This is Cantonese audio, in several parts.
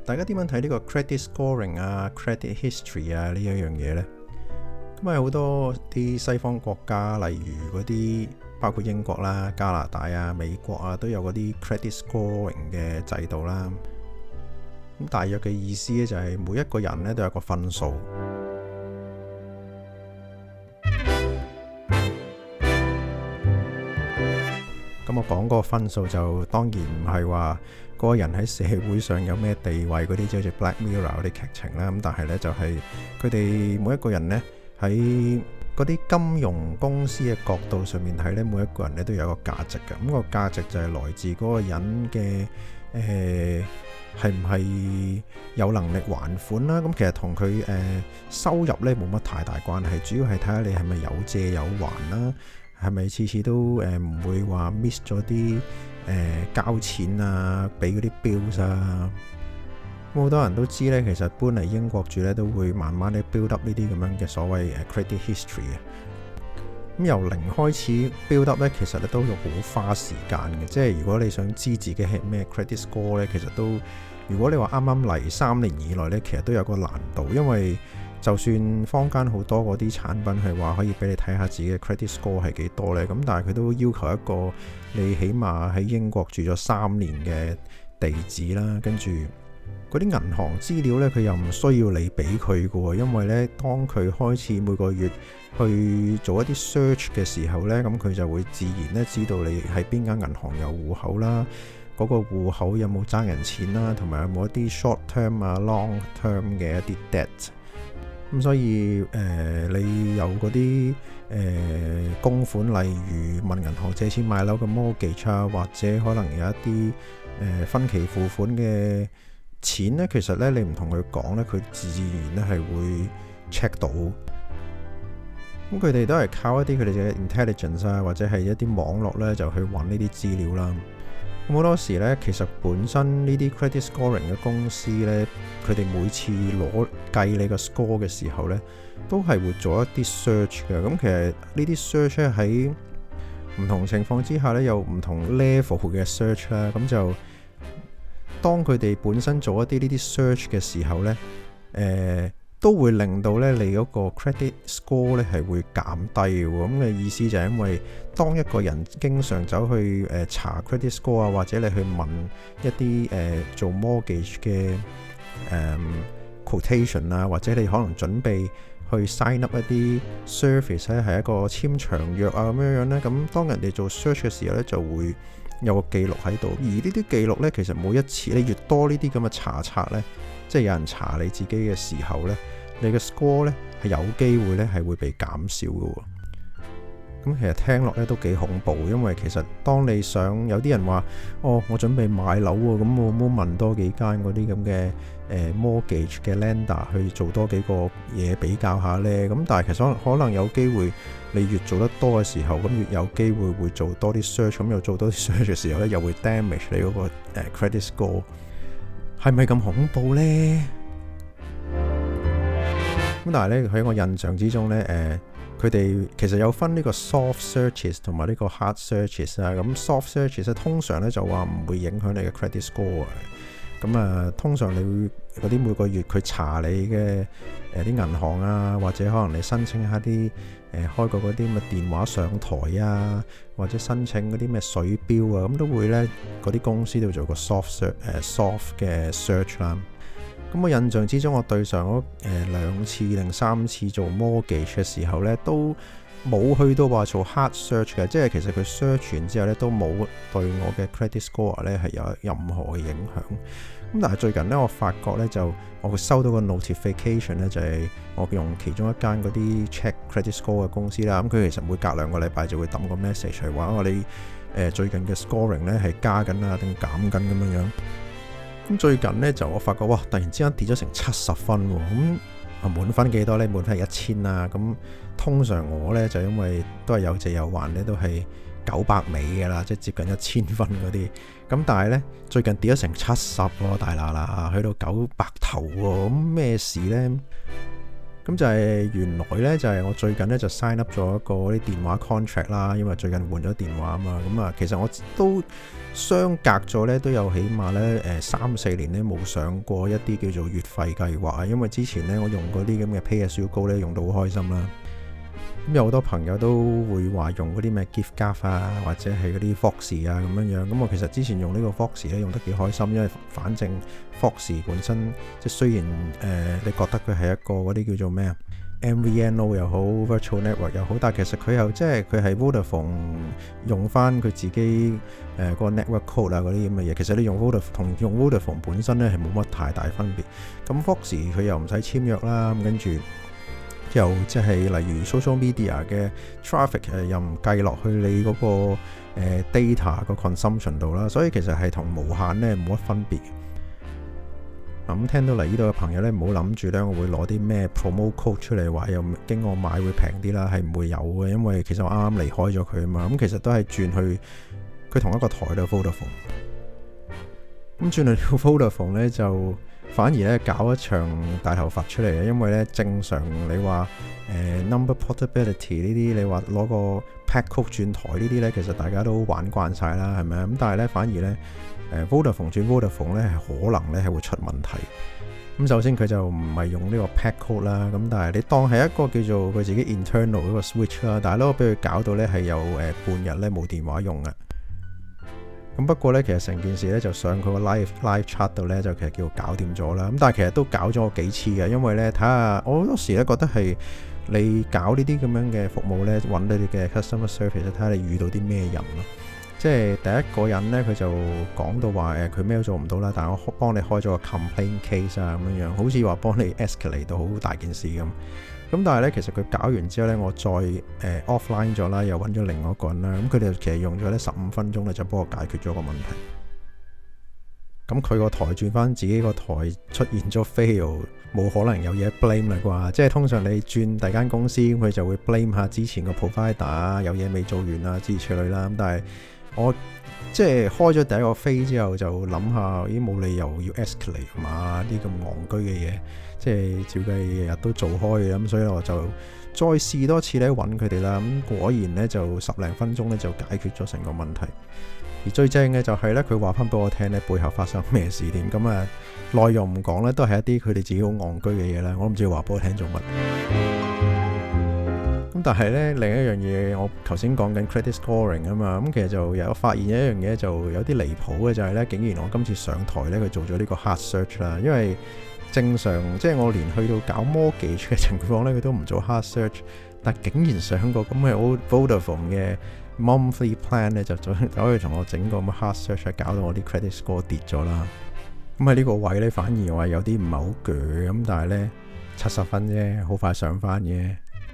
大家點樣睇呢個 credit scoring 啊、credit history 啊呢一樣嘢呢？咁啊好多啲西方國家，例如嗰啲包括英國啦、加拿大啊、美國啊，都有嗰啲 credit scoring 嘅制度啦。咁大約嘅意思咧就係每一個人咧都有個分數。咁我講嗰個分數就當然唔係話嗰個人喺社會上有咩地位嗰啲，即係好似 Black Mirror 嗰啲劇情啦。咁但係呢，就係佢哋每一個人呢，喺嗰啲金融公司嘅角度上面睇呢，每一個人呢都有一個價值嘅。咁個價值就係來自嗰個人嘅係唔係有能力還款啦。咁其實同佢收入呢冇乜太大關係，主要係睇下你係咪有借有還啦。係咪次次都唔會話 miss 咗啲交錢啊，俾嗰啲 bills 啊？好多人都知呢，其實搬嚟英國住呢，都會慢慢地 build up 呢啲咁樣嘅所謂credit history 啊。咁由零開始 build up 呢，其實都要好花時間嘅。即係如果你想知自己係咩 credit score 呢，其實都如果你話啱啱嚟3年以內呢，其實都有個難度，因為就算坊間好多嗰啲產品係話可以俾你睇下自己嘅 credit score 係幾多呢，咁但係佢都要求一個你起碼喺英國住咗3年嘅地址啦，跟住嗰啲銀行資料呢，佢又唔需要你俾佢嘅喎，因為呢，當佢開始每個月去做一啲 search 嘅時候呢，咁佢就會自然呢知道你喺邊間銀行有戶口啦，嗰個戶口有冇爭人錢啦，同埋有冇一啲 short term 啊 long term 嘅一啲 debt。咁所以你有嗰啲供款，例如問銀行借錢買樓嘅 mortgage 啊，或者可能有一啲分期付款嘅錢呢，其實呢，你唔同佢講呢，佢自然呢係會 check 到。咁佢哋都係靠一啲佢哋嘅 intelligence 啊，或者係一啲網絡呢，就去揾呢啲資料啦。好多時咧，其實本身呢啲 credit scoring 嘅公司咧，佢哋每次計你個 score 嘅時候咧，都係會做一啲 search 嘅。咁其實呢啲 search 咧，喺唔同情況之下咧，有唔同 level 嘅 search 啦。咁就當佢哋本身做一啲呢啲 search 嘅時候咧，都會令到咧你嗰個 credit score 咧係會減低嘅。咁嘅意思就係因為當一個人經常走去查 credit score 啊，或者你去問一啲做 mortgage 嘅quotation 啊，或者你可能準備去 sign up 一啲 service 咧，係一個簽長約啊咁樣咧，咁當人哋做 search 嘅時候咧，就會有個記錄喺度。而呢啲記錄咧，其實每一次你越多呢啲咁嘅查冊咧，即係有人查你自己嘅時候呢，你嘅 score 呢係有機會呢係會被減少嘅。咁其實聽落呢都幾恐怖，因為其實當你想有啲人話，我準備買樓喎，咁我冇問多幾間嗰啲咁嘅mortgage 嘅 lender 去做多幾個嘢比較下呢。咁但係其實可能有機會，你越做得多嘅時候，咁越有機會會做多啲 search，咁又做多啲 search 嘅時候呢，又會 damage 你嗰個credit score。係咪咁恐怖呢？咁但係咧喺我印象之中咧，佢哋其實有分呢個 soft searches 同埋呢個 hard searches 啊。咁 soft searches 通常咧就話唔會影響你嘅 credit score 啊。咁啊，通常你會嗰啲每個月佢查你嘅啲銀行啊，或者可能你申請一下啲開過嗰啲咁嘅電話上台啊，或者申請嗰啲咩水錶啊，咁都會咧嗰啲公司都做個 soft 嘅 search 啦。咁我印象之中，我對上嗰2次定3次做 mortgage 嘅時候咧，都冇去到話做 hard search 嘅，即係其實佢 search 完之後咧都冇對我嘅 credit score 咧係有任何嘅影響。咁但係最近咧，我發覺咧就我會收到個 notification 咧，就係我用其中一間嗰啲 check credit score 嘅公司啦。咁佢其實每隔2個禮拜就會抌個 message 嚟話我哋最近嘅 scoring 咧係加緊啊定減緊咁樣樣。咁最近咧就我發覺哇，突然之間跌咗成70分喎。咁滿分幾多咧？滿分係1000啊。咁通常我咧就因為都係有借有還咧，都係900尾嘅啦，即係接近1000分嗰啲。咁但係咧最近跌咗成70喎，大喇喇去到900頭喎。咁咩事咧？咁咁就係原來呢，就係我最近呢就 sign up 咗一個啲電話 contract 啦，因為最近換咗電話啊嘛。咁啊，其實我都相隔咗呢都有起碼呢3-4年呢冇上過一啲叫做月費計劃啊，因為之前呢我用嗰啲咁嘅 pay as you go 呢用到好開心啦。咁有好多朋友都會話用嗰啲咩 giffgaff 啊，或者係嗰啲 Foxy 啊咁樣樣。咁我其實之前用呢個 Foxy 咧用得幾開心，因為反正 Foxy 本身即係雖然你覺得佢係一個嗰啲叫做咩啊 MVNO 又好 Virtual Network 又好，但係其實佢又即係佢係 Vodafone 用翻佢自己嗰個 network code 啊嗰啲咁嘅嘢。其實你用 Vodafone 同用 Vodafone 本身咧係冇乜太大分別。咁 Foxy 佢又唔使簽約啦，咁跟住又即係例如 social media 嘅 traffic 又唔計落去你嗰個data 個 consumption 度啦，所以其實係同無限咧冇乜分別。咁聽到嚟呢度嘅朋友咧，唔好諗住咧我會攞啲咩 promo code 出嚟話又經我買會平啲啦，係唔會有嘅，因為其實我啱啱離開咗佢啊嘛。咁其實都係轉去佢同一個台度 Vodafone。咁轉去 Vodafone 咧就反而咧搞一場大頭佛出嚟嘅，因為咧正常你話number portability 呢啲，你話攞個 pack code 轉台呢啲咧，其實大家都玩慣晒啦，係咪啊？咁但係咧反而咧Vodafone 轉 Vodafone 咧係可能咧係會出問題。咁首先佢就唔係用呢個 pack code 啦，咁但係你當係一個叫做佢自己 internal 嗰個 switch 啦，但係都俾佢搞到咧係有半日咧冇電話用嘅。咁不過咧，其實成件事咧就上佢個 live chat 度咧，就其實叫搞掂咗啦。咁但係其實都搞咗我幾次嘅，因為咧睇下我好多時咧覺得係你搞呢啲咁樣嘅服務咧，揾到你嘅 customer service，睇下你遇到啲咩人咯。即係第一個人咧，佢就講到話佢咩都做唔到啦，但係我幫你開咗個 complaint case 啊咁樣，好似話幫你 escalate 到好大件事咁。咁但係咧，其實佢搞完之後咧，我再offline 咗啦，又揾咗另外一個人啦。咁佢哋其實用咗咧15分鐘咧，就幫我解決咗個問題。咁佢個台轉翻自己個台出現咗 fail， 冇可能有嘢 blame 啦啩？即係通常你轉第間公司，佢就會 blame 下之前個 provider 有嘢未做完啊之類啦。咁但係我即係開咗第一個飛之後，就諗下咦冇理由要 escalate 嘛？啲咁戇居嘅嘢。即係照計日日都做開嘅，咁所以我就再試多次咧揾佢哋啦。咁果然咧就10零分鐘咧就解決咗成個問題。而最正嘅就係咧，佢話翻俾我聽咧背後發生咩事點。咁啊內容唔講咧，都係一啲佢哋自己好戇居嘅嘢啦。我唔知佢話俾我聽做乜。咁但係咧另一樣嘢，我頭先講緊 credit scoring 啊嘛。咁其實就有發現一樣嘢，就有啲離譜嘅就係咧，竟然我今次上台咧佢做咗呢個 hard search 啦，因為正常即係我連去到搞 mortgage 嘅情況咧，佢都唔做 hard search， 但竟然上個咁嘅 Vodafone 嘅 monthly plan 咧，就可以同我整個咁 hard search， 搞到我啲 credit score 跌咗啦。咁喺呢個位咧，反而我係有啲唔係好鋸咁，但係咧70分啫，好快上翻嘅。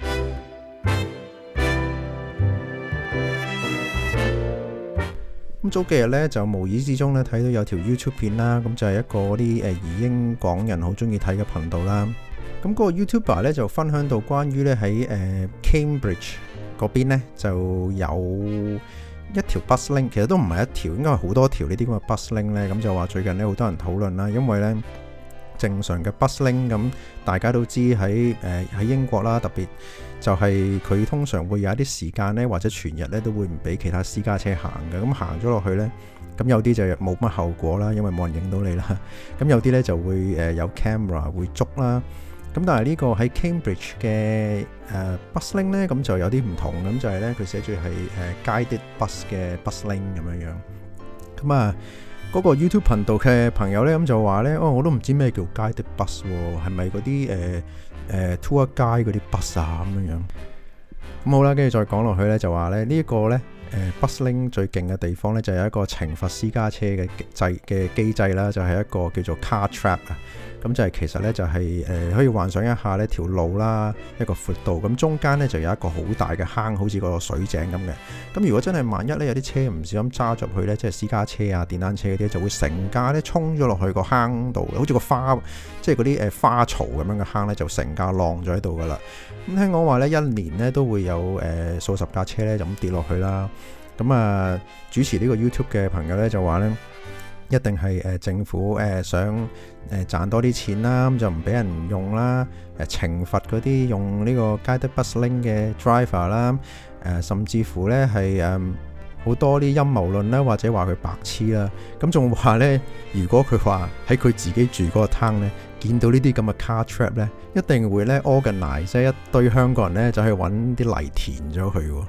咁早幾日咧就無意之中咧睇到有條 YouTube 片啦，咁就係一個啲移英港人好中意睇嘅頻道啦。咁嗰個 YouTuber 咧就分享到關於咧喺Cambridge 嗰邊咧就有一條 bus link， 其實都唔係一條，應該係好多條呢啲咁嘅 bus link 咧。咁就話最近咧好多人討論啦，因為咧正常嘅 bus link 咁大家都知喺英國啦，特別就係佢通常會有一啲時間咧，或者全日咧都會唔俾其他私家車行嘅。咁行咗落去咧，咁有啲就冇乜後果啦，因為冇人影到你啦。咁有啲咧就會有 camera 會捉啦。咁但係呢個喺 Cambridge 嘅bus link 咧，咁就有啲唔同。咁就係咧佢寫住係guided bus 嘅 bus link 咁樣樣。咁啊嗰個 YouTube 頻道嘅朋友咧，咁就話咧，我都唔知咩叫 guided bus 喎，係咪嗰啲tour guide 嗰啲 bus 啊咁樣樣。咁好啦，跟住再講落去咧，就話咧呢一個咧bus link 最勁嘅地方咧，就有一個懲罰私家車嘅機制啦，就係一個叫做 car trap 啊。咁就係其實咧就係可以幻想一下呢條路啦，一個闊道，咁中間咧就有一個好大嘅坑，好似個水井咁嘅。咁如果真係萬一咧有啲車唔小心揸入去咧，即係私家車啊、電單車嗰啲，就會成架咧衝咗落去個坑度，好似個花，即係嗰啲花槽咁樣嘅坑咧，就成架晾咗喺度噶啦。咁聽講話咧，一年咧都會有數十架車咧就咁跌落去啦。咁啊，主持呢個 YouTube 嘅朋友咧就話咧， 一定係政府想賺多啲錢啦，咁就唔俾人用啦，懲罰嗰啲用呢個 Guided Bus Link 嘅 driver 啦，甚至乎呢係好多啲陰謀論啦，或者話佢白痴啦，咁仲話呢，如果佢話喺佢自己住嗰個 town 呢，見到呢啲咁嘅 car trap 呢，一定會呢 organize 即係一堆香港人呢就去揾啲泥填咗佢喎。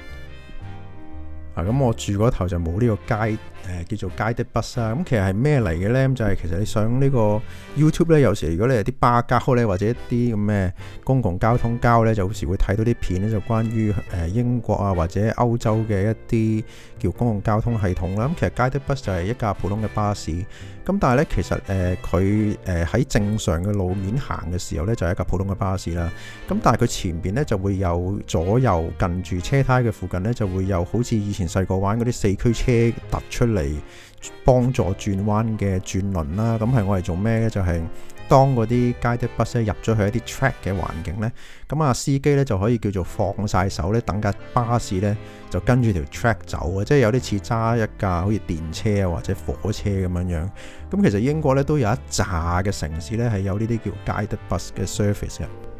咁我住嗰頭就冇呢個叫做 Guided Bus 啦。咁其實係咩嚟嘅呢？咁就係其實你上呢個 YouTube 呢，有時如果你係啲巴膠呢，或者一啲咁嘅公共交通膠呢，就有時會睇到啲片呢，就關於英國啊或者歐洲嘅一啲叫公共交通系統啦。咁其實 Guided Bus 就係一架普通嘅巴士。咁但係呢，其實佢喺正常嘅路面行嘅時候呢，就係一架普通嘅巴士啦。咁但係佢前邊呢，就會有左右近住車胎嘅附近呢，就會有好似以前細個玩嗰啲四驅車突出嚟幫助轉彎嘅轉輪啦。咁係我哋做咩呢？就係當嗰啲 Guided Bus 入咗去一啲 track 嘅環境呢，咁司機呢就可以叫做放晒手呢，等架巴士呢就跟住條 track 走啊，即係有啲似揸一架好似電車啊或者火車咁樣樣。咁其實英國呢都有一紮嘅城市呢係有呢啲叫 Guided Bus 嘅 service 嘅。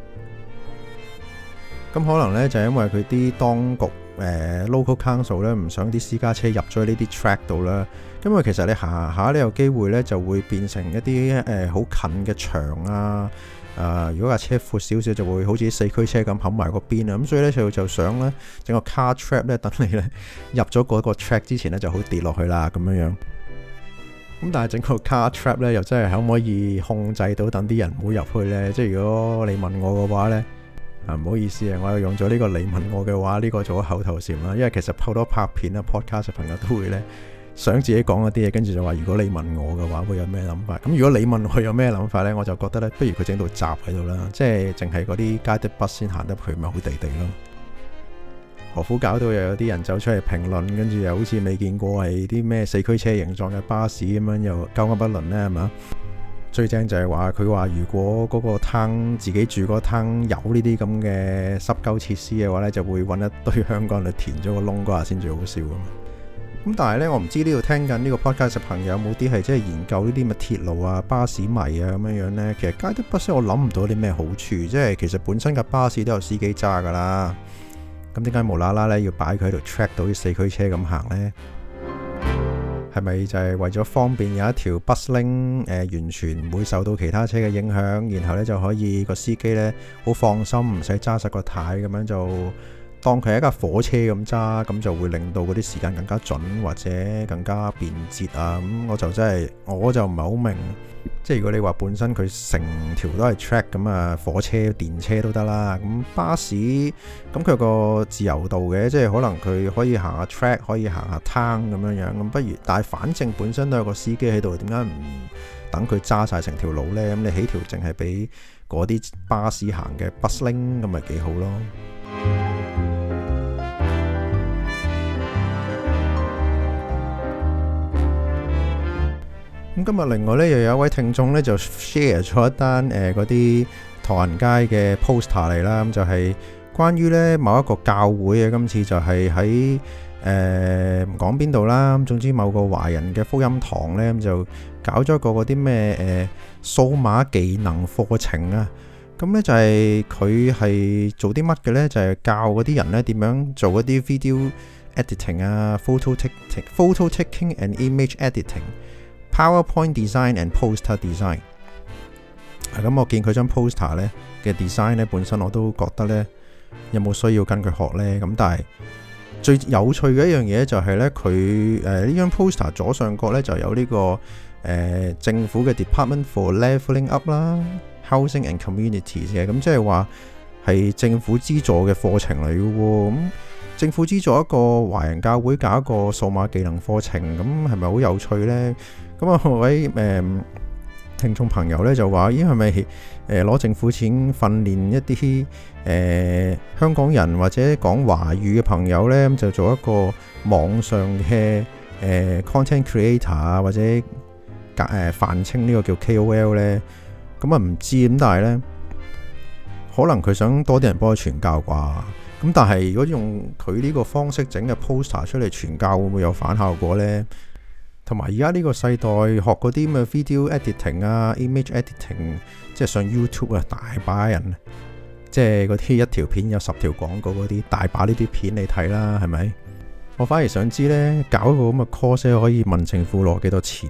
咁可能呢就係因為佢啲當局local council 呢唔想啲私家車入咗呢啲 track 度啦。因為其實你行下呢有機會呢就會變成一啲好近嘅牆啊。如果架車闊少少就會好似四驅車咁冚埋個邊啊。咁所以呢就想呢整個 car trap 呢，等你呢入咗嗰個 track 之前呢就好跌落去啦咁樣樣。咁但係整個 car trap 呢又真係可唔可以控制到等啲人唔好入去呢？即係如果你問我嘅話呢，唔好意思啊，我又用咗呢個你問我嘅話呢個做咗口頭禪啦。因為其實好多拍片啊 podcast 嘅朋友都會呢想自己講一啲嘢，跟住就話如果你問我嘅話會有咩諗法。咁如果你問我有咩諗法呢，我就覺得呢，不如佢整到閘喺度啦，即係淨係嗰啲 Guided Bus 先行得去，咪好地地咯。何苦搞到又有啲人走出嚟評論，跟住又好似未見過係啲咩四驅車形狀嘅巴士咁樣，又交噏不倫呢，係嘛？最正就係話佢話如果嗰個灘自己住嗰個灘有呢啲咁嘅濕鳩設施嘅話呢，就會揾一堆香港人去填咗個窿嗰下先最好笑啊嘛。咁但係呢，我唔知呢度聽緊呢個 podcast 嘅朋友有冇啲係即係研究呢啲乜鐵路啊、巴士迷啊咁樣樣呢？其實 Guided Bus 我諗唔到啲咩好處，即係其實本身架巴士都有司機揸噶啦。咁點解無啦啦咧要擺佢喺度 track 到啲四驅車咁行呢？係咪就係為咗方便有一條 bus link 完全唔會受到其他車嘅影響，然後呢就可以個司機呢好放心，唔使揸實個軚咁樣就當佢係一架火車咁揸，咁就會令到嗰啲時間更加準或者更加便捷啊！咁我就唔係好明，即係如果你話本身佢成條都係 track 咁啊，火車、電車都得啦。咁巴士咁佢有個自由度嘅，即係可能佢可以行下 track，可以行下灘咁樣樣。咁不如，但係反正本身都有個司機喺度，點解唔等佢揸晒成條路呢？咁你起條淨係俾嗰啲巴士行嘅 bus link，咁咪幾好咯。咁今日另外咧又有一位聽眾咧就 share 咗一單嗰啲唐人街嘅 poster 嚟啦，咁就係關於咧某一個教會啊，今次就係喺唔講邊度啦，咁總之某個華人嘅福音堂咧，咁就搞咗個嗰啲咩數碼技能課程啊，咁咧就係佢係做啲乜嘅咧？就係教嗰啲人咧點樣做一啲 video editing 啊、photo taking and image editing。PowerPoint design and poster design。咁我見佢張 poster 咧嘅 design 咧，本身我都覺得咧有冇需要跟佢學咧？咁但係最有趣嘅一樣嘢就係咧，佢呢張 poster 左上角咧就有呢個政府嘅 Department for Levelling Up 啦、Housing and Communities 嘅，咁即係話係政府資助嘅課程嚟嘅喎。咁政府資助一個華人教會搞一個數碼技能課程，咁係咪好有趣咧？咁啊，各位聽眾朋友咧就話：咦，係咪攞政府錢訓練一啲香港人或者講華語嘅朋友咧，咁就做一個網上嘅content creator 啊，或者泛稱呢個叫 KOL 咧？咁啊唔知咁，但係咧可能佢想多啲人幫佢傳教啩？咁但係如果用佢呢個方式整嘅 poster 出嚟傳教，會唔會有反效果咧？ 同埋而家呢個世代學嗰啲咁嘅 video editing 啊、image editing， 即係上 YouTube 啊，大把人，即係嗰啲一條片有10條廣告嗰啲，大把呢啲片你睇啦，係咪？我反而想知呢，搞一個咁嘅 course 可以問政府攞幾多錢？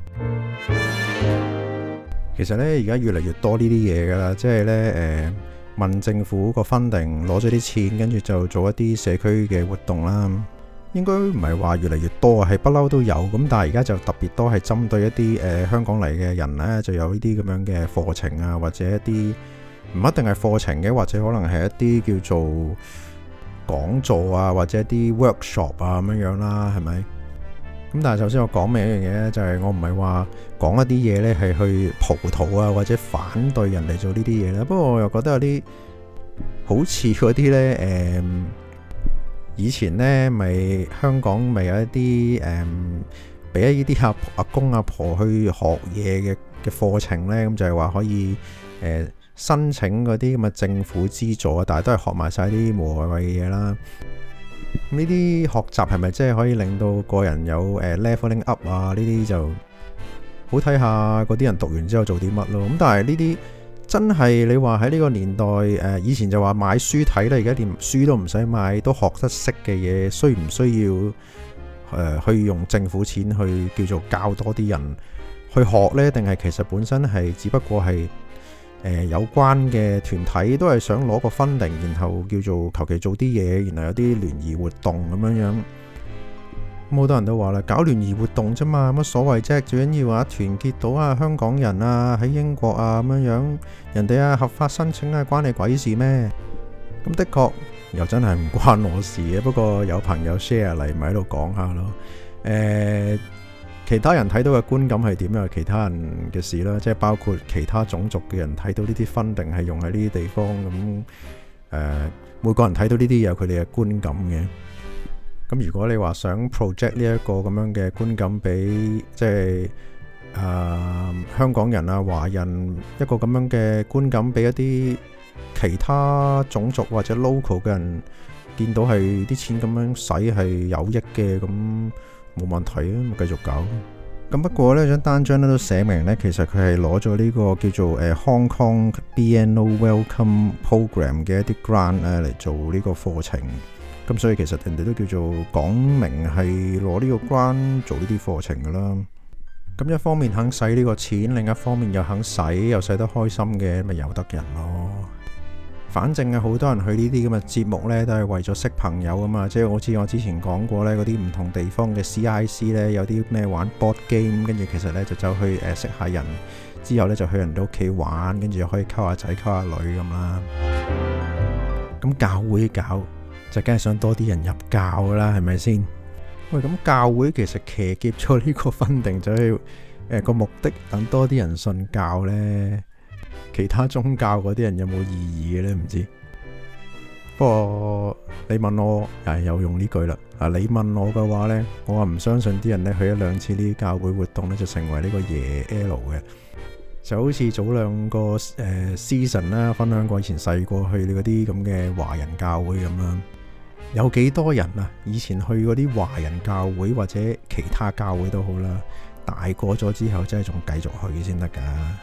其實呢，而家越嚟越多呢啲嘢噶啦，即係呢，問政府個 funding 攞咗啲錢，跟住就做一啲社區嘅活動啦。應該唔係話越嚟越多啊，係不嬲都有。咁但係而家就特別多係針對一啲香港嚟嘅人呢，就有呢啲咁樣嘅課程啊，或者一啲唔一定係課程嘅，或者可能係一啲叫做講座啊，或者一啲 workshop 啊咁樣啦，係咪？咁但係首先我講明一樣嘢咧，就係我唔係話講一啲嘢呢係去葡萄啊，或者反對人哋做呢啲嘢啦。不過我又覺得有啲好似嗰啲呢。以前呢咪香港咪有一啲俾一啲阿公阿婆去學嘢嘅課程呢，咁就係話可以申請嗰啲咁嘅政府資助啊，但係都係學埋晒啲無謂嘅嘢啦。咁呢啲學習係咪真係可以令到個人有leveling up 啊？呢啲就好睇下嗰啲人讀完之後做啲乜咯。咁但係呢啲真係你話喺呢個年代以前就話買書睇啦，而家連書都唔使買，都學得識嘅嘢，需唔需要去用政府錢去叫做教多啲人去學呢？定係其實本身係只不過係有關嘅團體都係想攞個 funding，然後叫做求其做啲嘢，然後有啲聯誼活動咁樣樣。好多人都話啦，搞聯誼活動啫嘛，乜所謂啫？最緊要話團結到啊香港人啊喺英國啊咁樣樣，人哋啊合法申請啊關你鬼事咩？咁的確又真係唔關我事嘅。不過有朋友 share 嚟，咪喺度講下咯。其他人睇到嘅觀感係點樣？其他人嘅事啦，即係包括其他種族嘅人睇到呢啲 funding係用喺呢啲地方咁。每個人睇到呢啲有佢哋嘅觀感嘅。咁如果你話想 project 呢一個咁樣嘅觀感俾即係香港人啊華人一個咁樣嘅觀感俾一啲其他種族或者 local 嘅人見到係啲錢咁樣使係有益嘅，咁冇問題啊，咪繼續搞。咁不過呢張單張咧都寫明呢，其實佢係攞咗呢個叫做Hong Kong BNO Welcome Program 嘅一啲 grant 嚟做呢個課程。咁所以其實人哋都叫做講明係攞呢個 grant 做呢啲課程噶啦。咁一方面肯使呢個錢，另一方面又肯使，又使得開心嘅，咪由得人咯。反正啊，好多人去呢啲咁嘅節目呢，都係為咗識朋友啊嘛。即係好似我之前講過呢，嗰啲唔同地方嘅 CIC 呢，有啲咩玩 board game，跟住其實呢就走去識下人，之後呢就去人哋屋企玩，跟住又可以溝下仔溝下女咁啦。咁教會搞就梗係想多啲人入教噶啦，係咪先？喂，咁教會其實騎劫咗呢個funding，就係個目的等多啲人信教呢。其他宗教嗰啲人有冇異議嘅呢？唔知。不過你問我，又用呢句啦。你問我嘅話呢，我話唔相信啲人呢去一兩次呢啲教會活動呢，就成為呢個耶 L 嘅。就好似早兩個season 啦，分享過以前細個去嗰啲咁嘅華人教會咁啦。有幾多人啊？以前去嗰啲華人教會或者其他教會都好啦，大個咗之後真係仲繼續去先得噶。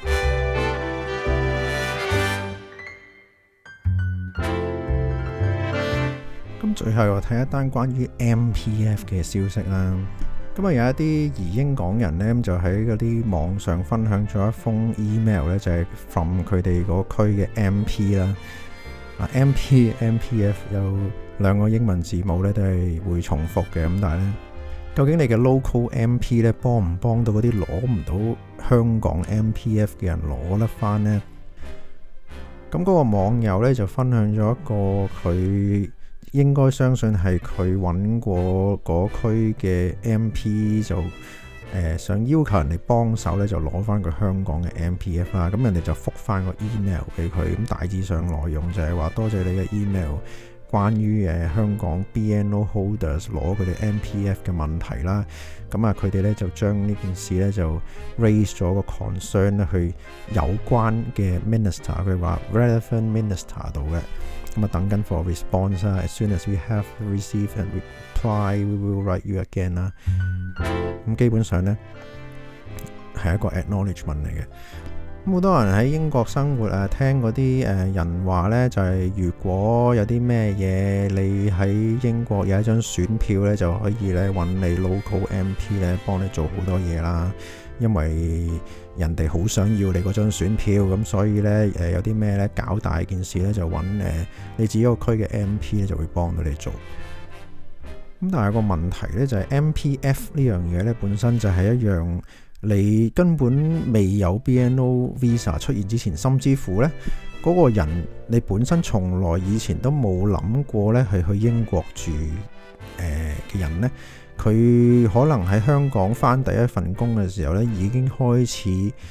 咁最後我睇一單關於 MPF 嘅消息啦。咁啊有一啲移英港人呢，就喺嗰啲網上分享咗一封 email 呢，就係 from 佢哋嗰區嘅 MP 啦。MPF 有兩個英文字母咧都係會重複嘅，咁但係咧，究竟你嘅 local MP 咧幫唔幫到嗰啲攞唔到香港 MPF 嘅人攞得翻呢？咁嗰個網友咧就分享咗一個佢應該相信係佢揾過嗰區嘅 MP 就想要求人哋幫手咧，就攞翻個香港嘅 MPF 啦。咁人哋就覆翻個 email 俾佢，咁大致上內容就係話多謝你嘅 email，關於香港 BNO holders 攞佢哋 MPF 嘅問題啦。咁啊，佢哋咧就將呢件事咧就 raise 咗個 concern 咧去有關嘅 minister，佢話 relevant minister 度嘅。 咁啊等緊 for response 啦。As soon as we have received a reply, we will write you again 啦。咁基本上呢係一個 acknowledgement 嚟嘅。咁好多人喺英國生活聽嗰啲人話呢，就係如果有啲咩嘢，你喺英國有一張選票呢，就可以呢揾你 local MP 呢幫你做好多嘢啦。因為人哋好想要你嗰張選票，咁所以呢，有啲咩呢搞大件事呢，就揾你自己個區嘅 MP 呢就會幫到你做。咁但係個問題呢，就係 MPF 呢樣嘢呢，本身就係一樣你根本未有 BNO Visa 出現之前，甚至乎呢嗰個人你本身從來以前都冇諗過呢係去英國住嘅人呢，佢可能喺香港返第一份工嘅時候呢，已經開始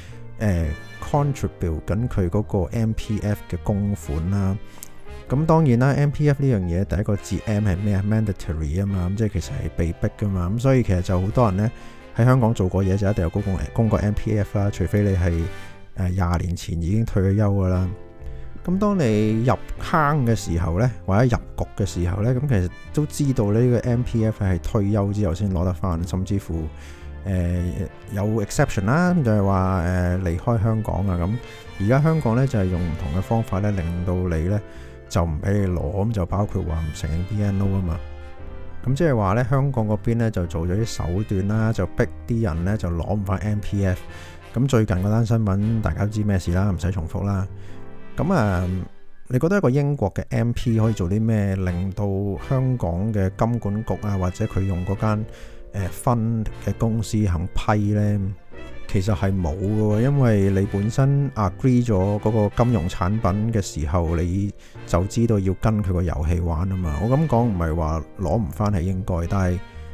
contribute 緊佢嗰個 MPF 嘅供款啦。咁當然啦 ，MPF 呢樣嘢第一個字 M 係咩啊 ？mandatory 啊嘛，咁即係其實係被逼噶嘛。咁所以其實就好多人呢喺香港做過嘢就一定有供過 MPF 啦，除非你係20年前已經退咗休噶啦。咁當你入坑嘅時候呢，或者入局嘅時候呢，咁其實都知道呢個 MPF 係退休之後先攞得翻，甚至乎有 exception 啦，就係話離開香港啊。咁而家香港呢，就係用唔同嘅方法呢，令到你呢就唔俾你攞，咁就包括話唔承認 BNO 啊嘛。咁即係話呢，香港嗰邊呢就做咗啲手段啦，就逼啲人呢就攞唔翻 MPF。咁最近嗰單新聞大家都知咩事啦，唔使重複啦。咁你覺得一個英國嘅 MP 可以做啲咩，令到香港嘅金管局啊，或者佢用嗰間分嘅公司肯批呢？其實係冇嘅，因為你本身 agree 咗嗰個金融產品嘅時候，你就知道要跟佢個遊戲玩啊嘛。我咁講唔係話攞唔翻係應該，但係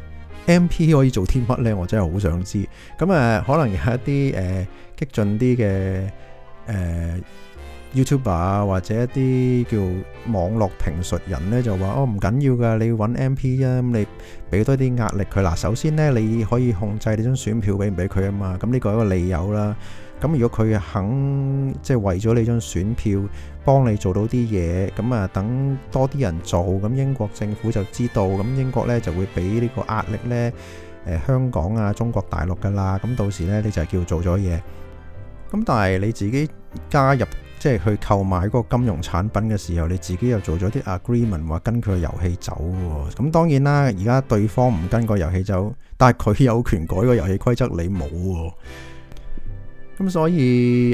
MP 可以做啲乜呢？我真係好想知。咁可能有一啲激進啲嘅YouTuber 啊，或者一啲叫網絡評述人呢，就話唔緊要㗎，你要揾 MP 啊，咁你俾多啲壓力佢。嗱，首先呢，你可以控制你張選票俾唔俾佢啊嘛，咁呢個係一個理由啦。咁如果佢肯即係為咗你張選票幫你做到啲嘢，咁等多啲人做，咁英國政府就知道，咁英國呢就會俾呢個壓力呢香港啊、中國大陸㗎啦。咁到時呢，你就係叫做咗嘢。咁但係你自己加入即係去購買嗰個金融產品嘅時候，你自己又做咗啲 agreement 話跟佢個遊戲走喎。咁當然啦，而家對方唔跟個遊戲走，但係佢有權改個遊戲規則，你冇喎。咁所以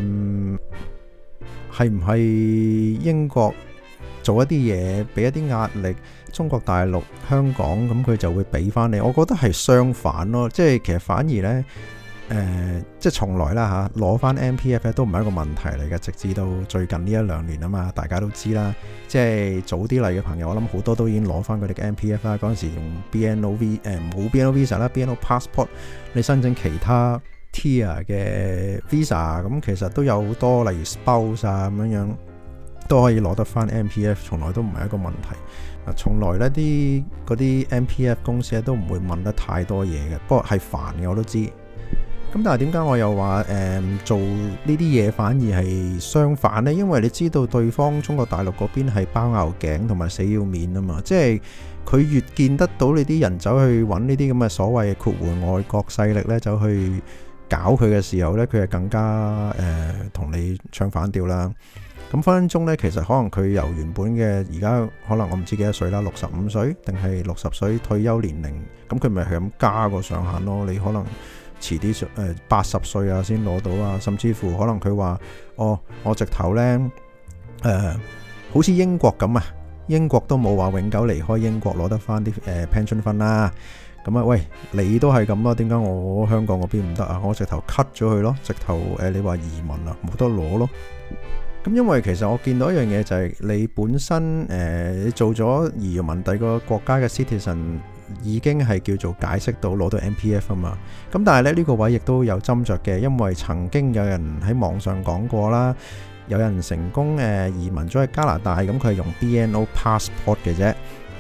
係唔係英國做一啲嘢，俾一啲壓力中國大陸、香港，咁佢就會俾翻你？我覺得係相反咯，即係其實反而呢。即係從來啦嚇，攞翻 MPF 都唔係一個問題嚟嘅，直至到最近呢1-2年啊嘛，大家都知啦。即係早啲嚟嘅朋友，我諗好多都已經攞翻佢哋嘅 MPF 啦。嗰陣時用 BNO冇 BNO Visa 啦，BNO Passport 你申請其他 Tier 嘅 Visa， 咁其實都有好多，例如 Spouse 啊咁樣都可以攞得翻 MPF， 從來都唔係一個問題。從來呢嗰啲 MPF 公司都唔會問得太多嘢嘅，不過係煩嘅我都知。咁但係點解我又話做呢啲嘢反而係相反呢？因為你知道對方中國大陸嗰邊係包拗頸同埋死要面啊嘛，即係佢越見得到你啲人走去揾呢啲咁嘅所謂括弧外國勢力呢，走去搞佢嘅時候呢，佢係更加同你唱反調啦。咁分分鐘呢，其實可能佢由原本嘅而家可能我唔知幾多歲啦，65歲定係60歲退休年齡，咁佢咪係咁加個上限咯？你可能遲啲80歲啊先攞到啊，甚至乎可能佢話我直頭呢，好似英國咁啊，英國都冇話永久離開英國攞得翻啲pension fund 啦。咁啊，喂，你都係咁啊？點解我香港嗰邊唔得啊？我直頭 cut 咗佢咯，直頭你話移民啊，冇得攞咯。咁因為其實我見到一樣嘢就係你本身你做咗移民第二個國家嘅 citizen，已經係叫做解釋到攞到 MPF 啊嘛。咁但係咧呢個位亦都有斟酌嘅，因為曾經有人喺網上講過啦，有人成功移民咗去加拿大，咁佢係用 BNO passport 嘅啫。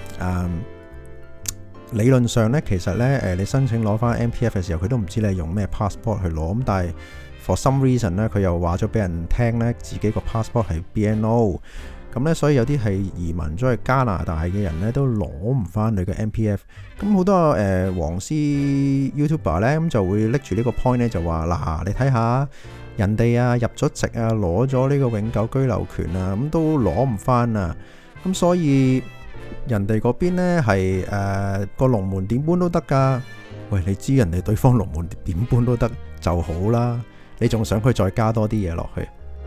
理論上咧，其實咧你申請攞翻 MPF 嘅時候，佢都唔知你係用咩 passport 去攞。咁但係 for some reason 咧，佢又話咗俾人聽咧，自己個 passport 係 BNO。 咁咧，所以有啲係移民咗去加拿大嘅人咧，都攞唔翻你嘅 MPF。咁好多黃絲 YouTuber 咧，咁就會拎住呢個 point 咧，就話嗱，你睇下人哋啊入咗籍啊，攞咗呢個永久居留權啊，咁都攞唔翻啊。咁所以人哋嗰邊咧係個龍門點搬都得噶。喂，你知人哋對方龍門點搬都得就好啦，你仲想佢再加多啲嘢落去？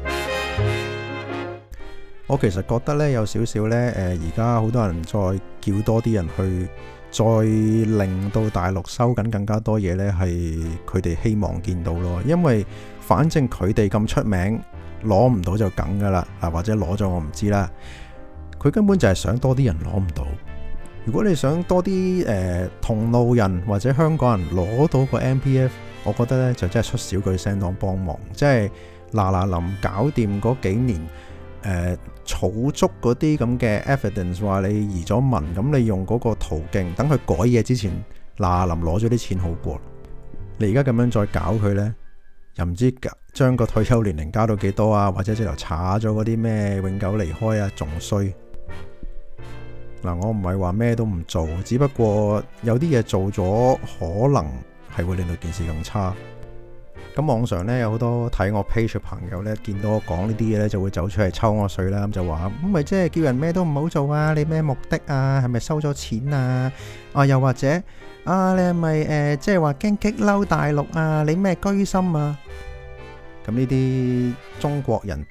我其實覺得咧有少少咧，而家好多人再叫多啲人去，再令到大陸收緊更加多嘢咧，係佢哋希望見到咯。因為反正佢哋咁出名，攞唔到就梗噶啦，或者攞咗我唔知啦。佢根本就係想多啲人攞唔到。如果你想多啲同路人或者香港人攞到個 MPF， 我覺得咧就真係出少句聲當幫忙，即係嗱臨搞掂嗰幾年。儲足嗰啲咁嘅 evidence 話你移咗民，咁你用嗰個途徑，等佢改嘢之前，嗱臨攞咗啲錢好過。你而家咁樣再搞佢呢，又唔知將個退休年齡加到幾多啊？或者直頭查咗嗰啲咩永久離開啊，仲衰。嗱，我唔係話咩都唔做，只不過有啲嘢做咗，可能係會令到件事更差。咁網上咧有好多睇我 page 嘅朋友咧，見到我講呢啲嘢咧，就會走出嚟抽我水啦。咁就話咁咪即係叫人咩都唔好做啊？你咩目的啊？係咪收咗錢啊？又或者你係咪即係話驚激嬲大陸啊？你咩居心啊？咁呢啲中國人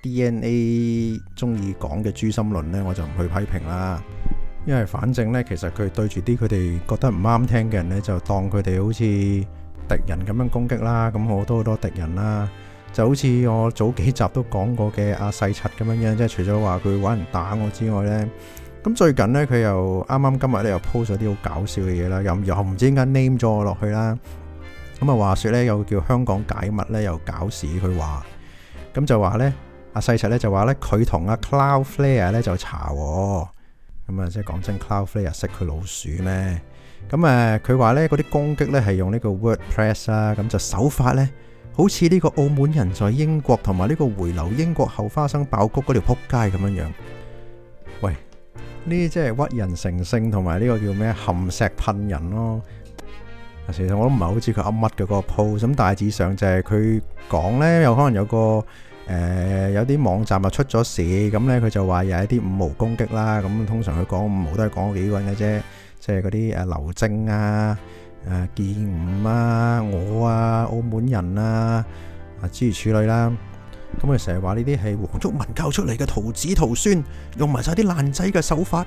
DNA 中意講嘅誅心論咧，我就唔去批評啦。因為反正咧，其實佢對住啲佢哋覺得唔啱聽嘅人咧，就當佢哋好似敵人咁樣攻擊啦，咁好多敵人啦，就好似我早幾集都講過嘅阿細柒咁樣，即係除咗話佢揾人打我之外呢，咁最近呢，佢又啱今日咧又 post 咗啲好搞笑嘅嘢啦，又唔知點解 name 咗我落去啦，咁啊話說呢，又叫香港解密呢，又搞事佢話，咁就話呢，阿細柒呢就話呢，佢同阿 Cloudflare 呢就查，咁啊即係講真 Cloudflare 識佢老鼠咩？咁佢話呢嗰啲攻擊呢係用呢個 WordPress 啦，咁就手法呢好似呢個澳門人在英國同埋呢個回流英國後花生爆谷嗰條撲街咁樣樣。喂，呢啲即係屈人成性同埋呢個叫咩含石噴人咯。其實我都唔係好知佢噏乜嘅嗰個 post，咁大致上就係佢講呢，有可能有個有啲網站出咗事，咁呢佢就話有一啲五毛攻擊啦。咁通常佢講五毛都係講幾個人嘅啫。即係嗰啲劉正啊、建吳啊、我啊、澳門人啊、諸如此類啦。咁佢成日話呢啲係黃毓民教出嚟嘅徒子徒孫，用埋晒啲爛仔嘅手法。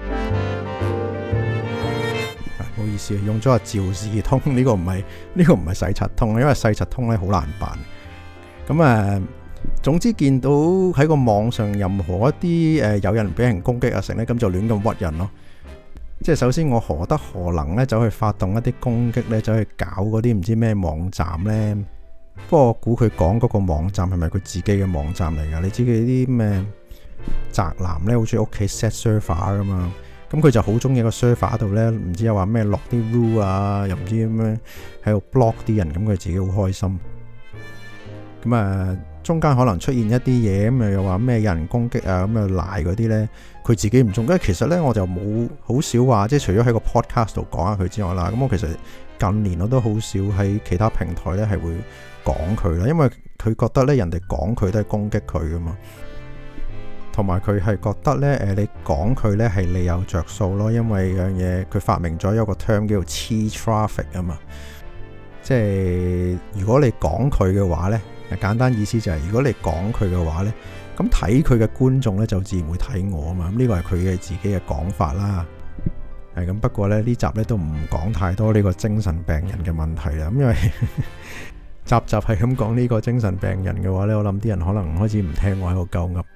唔好意思，用咗趙氏通呢個唔係細柒通，因為細柒通咧好難辦。咁總之見到喺個網上任何一啲有人俾人攻擊成咧，咁就亂咁屈人咯。即係首先我何德何能咧走去發動一啲攻擊咧，走去搞嗰啲唔知咩網站咧？不過我估佢講嗰個網站係咪佢自己嘅網站嚟噶？你知佢啲咩宅男咧，好中意屋企 set server 噶嘛？咁佢就好中意個 server 度咧，唔知又話咩落啲 rule 啊，又唔知咩喺度 block 啲人，咁佢自己好開心。咁中間可能出現一啲嘢，咁又話咩有人攻擊啊，咁賴嗰啲呢，佢自己唔中。因為其實呢，我就冇好少話，即係除咗喺個 podcast 度講下佢之外啦。咁我其實近年我都好少喺其他平台呢係會講佢啦，因為佢覺得呢人哋講佢都係攻擊佢噶嘛，同埋佢係覺得呢，你講佢呢係你有着數咯，因為樣嘢佢發明咗一個 term 叫做 cheap traffic 啊嘛，即係如果你講佢嘅話呢。簡單意思就係如果你講佢嘅話呢，咁睇佢嘅觀眾呢就自然會睇我啊嘛，咁呢個係佢嘅自己嘅講法啦。咁不過呢集呢都唔講太多呢個精神病人嘅問題啦，咁因為集係咁講呢個精神病人嘅話呢，我諗啲人可能開始唔聽我喺度鳩噏。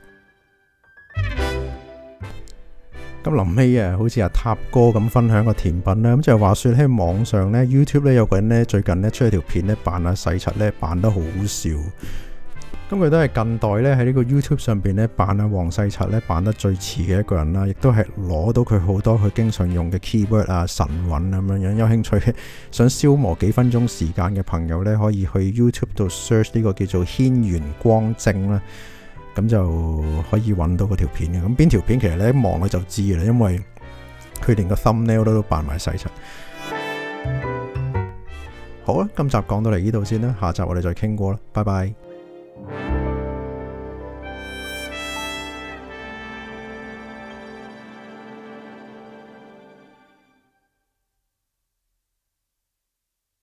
咁臨尾好似阿塔哥咁分享個甜品啦，咁就係話說喺網上呢 YouTube 呢有個人呢最近呢出咗條片呢扮阿細柒呢扮得好好笑，咁佢都係近代呢喺呢個 YouTube 上邊呢扮阿黃細柒呢扮得最似嘅一個人啦，亦都係攞到佢好多佢經常用嘅 keyword 啊神韻咁樣樣。有興趣想消磨幾分鐘時間嘅朋友呢，可以去 YouTube 度 search 呢個叫做軒轅光正啦。 咁就可以揾到嗰條片嘅。咁邊條片其實你一望佢就知啦，因為佢連個 thumbnail 都扮埋細柒。好啦，今集講到嚟呢度先啦，下集我哋再傾過啦，拜拜。